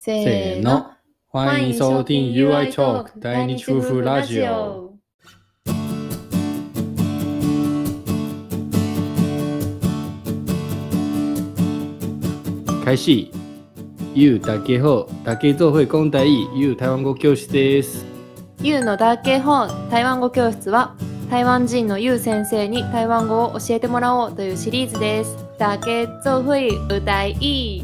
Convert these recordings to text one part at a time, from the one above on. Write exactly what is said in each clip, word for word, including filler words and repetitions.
せーの、欢迎收听 ユーアイ Talk 第二夫婦ラジオ。開始。ゆうだけほ、だけ做会講台語、ゆう台湾語教室です。 ゆうのだけ本台湾語教室は台湾人のゆう先生に台湾語を教えてもらおうというシリーズです。だけ做会有台語。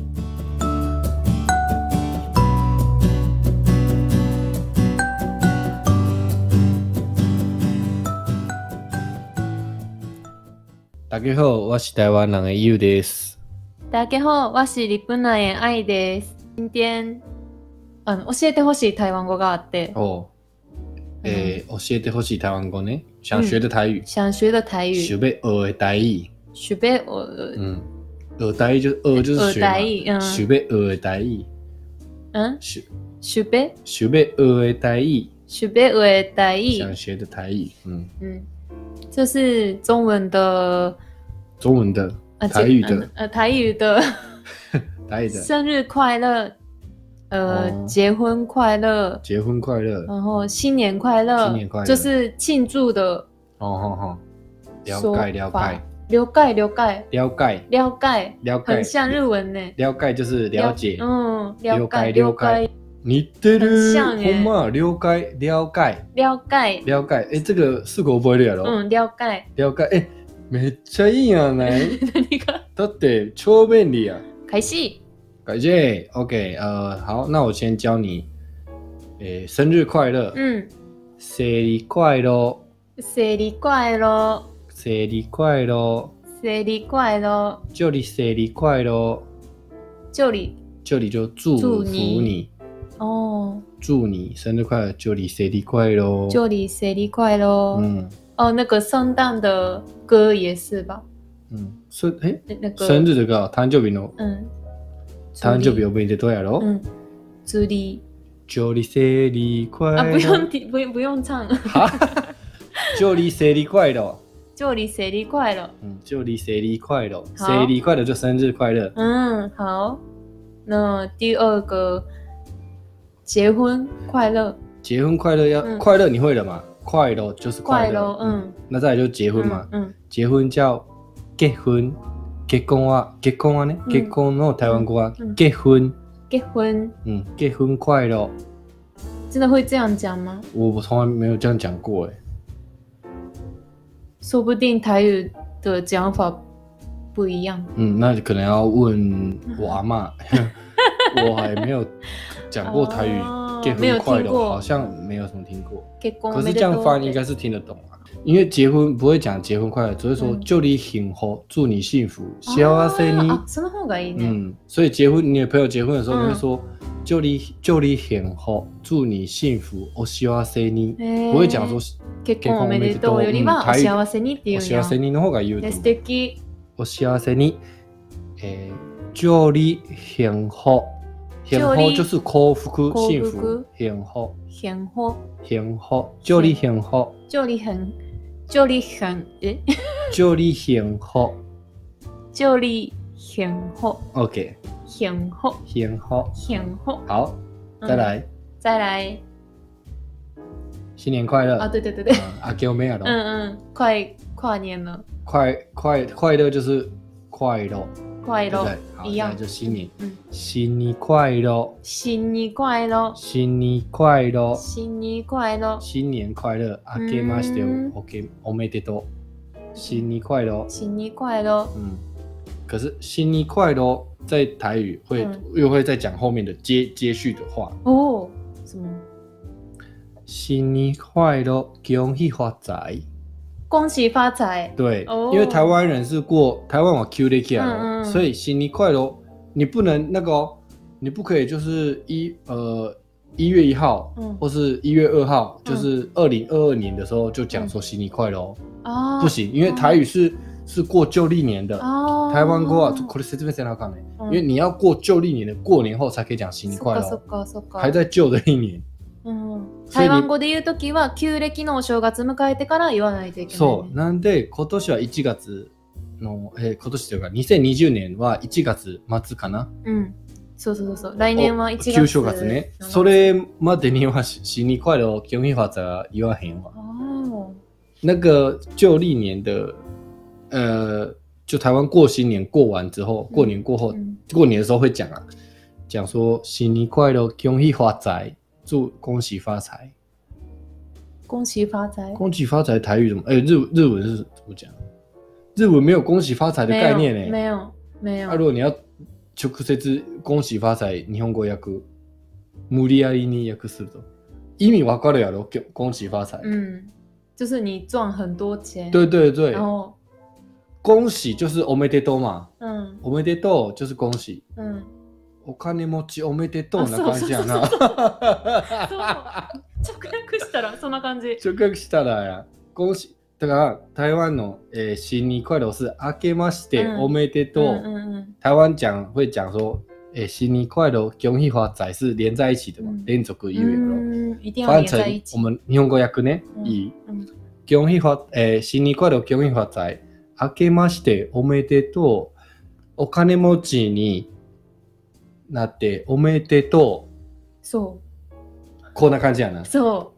大家好，我是台湾人的ゆうです。 大家好，我是日本人的愛です。今天あの教えてほしい台湾語があって。 哦，诶、嗯，教えてほしい台湾語呢？想学的台语。嗯、 想学的台语。 想要學的台語。 想要學。 嗯，學台語就學就是學嘛。嗯。想要學的台語。 嗯。想想要。 想要學的台語。 想要學的台語。 想學的台語。嗯嗯。 这是中文的， 中文的，台语的， 呃，台语的， 台语的， 生日快乐，呃、哦，结婚快乐， 结婚快乐， 然后新年快乐， 新年快乐， 就是庆祝的。 哦哦哦，了解了解， 了解了解， 了解了解了解， 很像日文呢。 了解就是了解， 嗯，了解了解。 似てる、ほんま了解了解了解了解。哎，这个すぐ覚えるやろ。 嗯，了解了解。哎，めっちゃいいやない何が？ だって超便利呀。 開始。 開始。OK， 呃，好，那我先教你。诶，生日快乐。嗯。生日快乐。 生日快乐。 生日快乐。 生日快乐。 祝你生日快乐。 祝你。 祝你就祝福你。 哦， 祝你生日快乐！祝你生日快乐！ 祝你生日快乐！嗯，哦，那个圣诞的歌也是吧？ 嗯，生哎，那个生日的歌，誕生日の，嗯，誕生日おめでとうやろ？嗯， 祝你祝你生日快乐！ 啊，不用听，不用不用唱。 哈，祝你生日快乐！ 祝你生日快乐！ 嗯，祝你生日快乐！生日快乐就生日快乐。 嗯，好。那第二个。结婚快乐， 结婚快乐要、嗯、快乐，你会了吗？快乐就是快乐，嗯，嗯那再来就是结婚嘛，嗯，嗯结婚叫結婚，結婚は結婚はね、結婚の台湾語は結婚， 結婚， 嗯，結婚快樂， 真的会这样讲吗？ 我我从来没有这样讲过哎， 说不定台语的讲法不一样， 嗯，那可能要问我阿嬷。我还没有讲过台语，结婚快乐好像没有什么听过。可是这样翻应该是听得懂啊，因为结婚不会讲结婚快乐，只会说祝你幸福，祝你幸福，幸せに。 啊，その方がいいね。 嗯，所以结婚，你的朋友结婚的时候，你会说祝你祝你幸福，祝你幸福，お幸せに，不会讲说結婚おめでとうよりはお幸せにっていう。 お幸せにの方が言うと思う。 素敵。 お幸せに、えー、祝你幸福。幸福就是幸福，幸福，幸福， 幸福， 幸福，祝你幸福， 祝你很，祝你很，诶， 祝你幸福， 祝你幸福 ，OK， 幸福， 幸福， 幸福， 好，再来， 再来， 新年快乐啊！对对对对， 啊，给我没有了， 嗯嗯，快跨年了， 快快快乐就是快乐。 快乐一样，就新年，嗯，新年快乐， 新年快乐， 新年快乐， 新年快乐， 新年快乐，あけましておけおめでとう，新年快乐， 新年快乐， 嗯，可是新年快乐在台语会、嗯、又会再讲后面的接接续的话哦，什么？ 新年快乐，恭喜发财。 恭喜发财！ 对，哦、因为台湾人是过台湾话 Q 的 Q，、嗯嗯、所以新年快乐，你不能那个、哦，你不可以就是一呃一月一号、嗯、或是一月二号，嗯、就是二零二二年的时候就讲说新年快乐、哦，不行，因为台语是、哦、是过旧历年的，哦、台湾过啊，これ説明せなあかんね、因为你要过旧历年的过年后才可以讲新年快乐，还在旧的一年。 うん、台湾語で言うときは旧暦のお正月迎えてから言わないといけない、ね、 そうなんで今年はいちがつの、えー、今年というかにせんにじゅうねんはいちがつ末かな、うん、 そうそうそう。来年はいちがつ。 旧正月ね。それまでには新年快乐、恭喜发财は言わへんわ。 哦。 那个旧历年的，呃，就台湾过新年过完之后，过年过后，嗯、过年的时候会讲啊，讲说新年快乐，恭喜发财，祝恭喜发财。 恭喜发财。 恭喜发财台语怎么？哎、欸，日日文是怎么讲？日文没有恭喜发财的概念呢、欸。 没有，没有。 啊，如果你要直接恭喜发财，日本語訳無理やりに訳すると意味わかるやろ？恭喜发财。 嗯，就是你赚很多钱。 对对对。 然后恭喜就是おめでとう嘛。 嗯。 おめでとう就是恭喜。 嗯。 お金持ちおめでとうな感じやな。 そう直訳したらそんな感じ。 直訳したらや。恭喜。だから台湾の、えー、新年快乐是明けましておめでとう。嗯嗯嗯、台湾讲会讲说，诶、欸，新年快乐，恭喜发财是连在一起的嘛，连続言うよ。 嗯，一定要连在一起。 我们日本語訳ね、嗯、いい。嗯、恭喜发，诶、欸，新年快乐，恭喜发财，明けましておめでとう。お金持ちになっておめでとう。 そう。 こんな感じやな。 そう。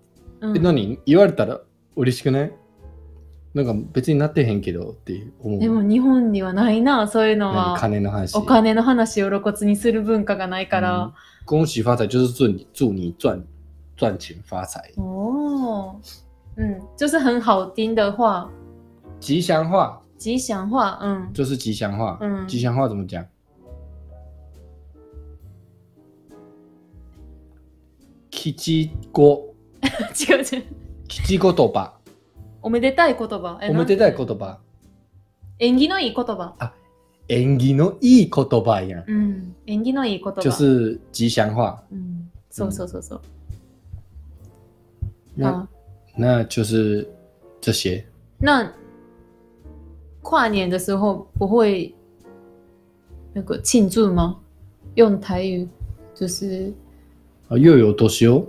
うん、え、何言われたら嬉しくない？なんか別になってへんけどって思う。 でも日本にはないな、そういうのは。 金の話。 お金の話を露骨にする文化がないから。 嗯、恭喜发财就是祝你祝你赚赚钱发财。 哦，嗯，就是很好听的话。 吉祥话。 吉祥话，嗯。 就是吉祥话。 嗯。 吉祥话怎么讲？吉語。 違う違う。 吉言葉。 おめでたい言葉。 おめでたい言葉。 縁起のいい言葉。 あ、縁起のいい言葉やん。 うん。縁起のいい言葉。 就是吉祥话。 うん。そうそうそうそう。 那那就是这些。 那跨年的时候不会那个庆祝吗？用台语就是啊，又有多少？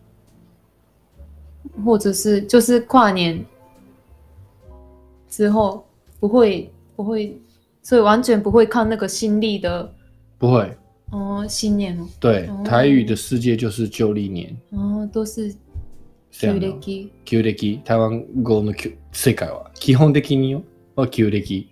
或者是就是跨年之后不会不会，所以完全不会看那个新历的。 不会。 哦，新年哦。 对， 哦、 台语的世界就是旧历年。 哦，都是旧暦。 旧暦，台湾語の世界は基本的によは旧暦。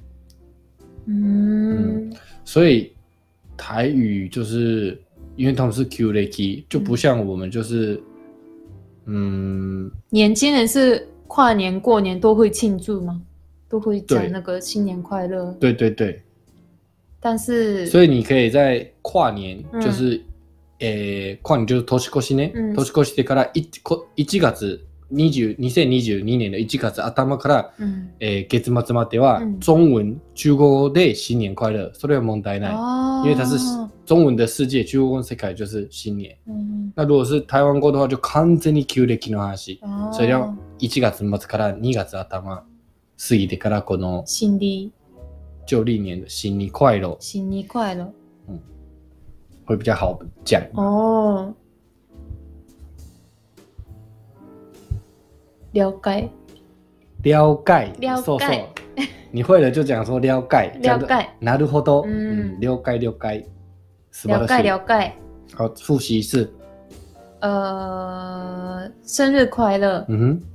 嗯。 嗯，所以台语就是因为他们是旧暦，就不像我们就是。嗯， 年轻人是跨年过年都会庆祝吗？都会讲那个新年快乐。 对对对。 但是， 所以你可以在跨年，就是，诶、嗯，跨年就是年越しね。年越してからいちがつにじゅうにせんにじゅうにねんのいちがつ頭から、うん、えー、月末までは、うん、中文中国語で新年快乐，それは問題ない。因为它是中文的世界，中国語の世界就是新年。嗯、那如果是台湾語的话，就完全に旧暦の話。それをいちがつ末からにがつ頭過ぎてからこの新历旧历年的新年快乐。 新年快乐。 嗯，会比较好讲。 哦。了解。 了解。 了解。 そうそう。你会了就讲说了解。 了解。 なるほど。 嗯。 了解了解。 了解了解。 好，复习一次。 呃，生日快乐。 嗯哼。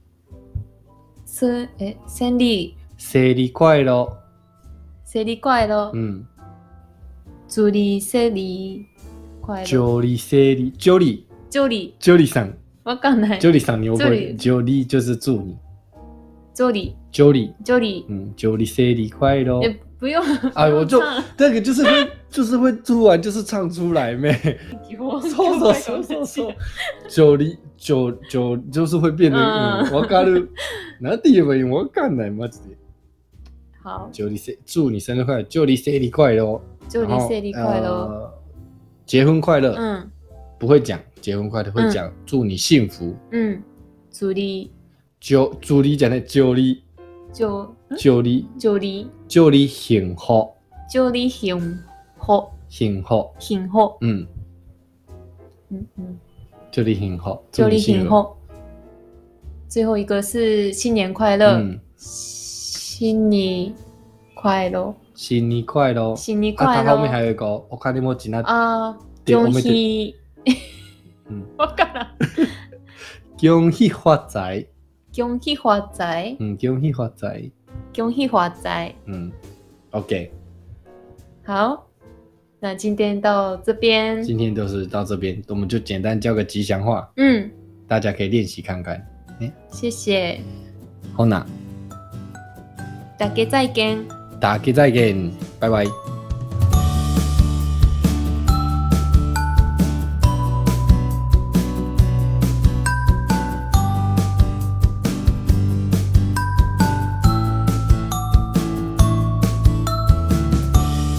生诶，生日。 生日快乐。 生日快乐。 嗯。 祝你生日快乐。 祝你生日。祝你。 祝你。 祝你さん。 わかんない。 祝你さん你会不会？祝你就是祝你。 祝你。 祝你。 祝你。 嗯，祝你生日快乐。 也不用。 哎，我就那个就是会就是会突然就是唱出来咩。そうそうそうそうそう。祝你祝祝就是会变得嗯，わかる。なんて言えばいいのわかんないマジで。 好。 祝你生祝你生日快乐，祝你生日快乐。 祝你生日快乐。 结婚快乐。 嗯。 不会讲结婚快乐，会讲祝你幸福。 嗯，祝你。 祝祝你讲的祝你。 祝祝你。 祝你。 祝你幸福。 祝你幸福。 幸福。 幸福。 嗯。 嗯嗯。 祝你幸福。 祝你幸福。最后一个是新年快乐。嗯。新年快乐。 新年快乐， 新年快乐。 啊，它后面还有一个，我看你有几那啊，恭喜， 嗯， 我干了， 恭喜发财， 恭喜发财， 嗯，恭喜发财， 恭喜发财， 嗯 ，OK， 好，那今天到这边， 今天就是到这边，我们就简单教个吉祥话， 嗯， 大家可以练习看看，欸、 谢谢， 好那， 大家再见， 大家再见，拜拜。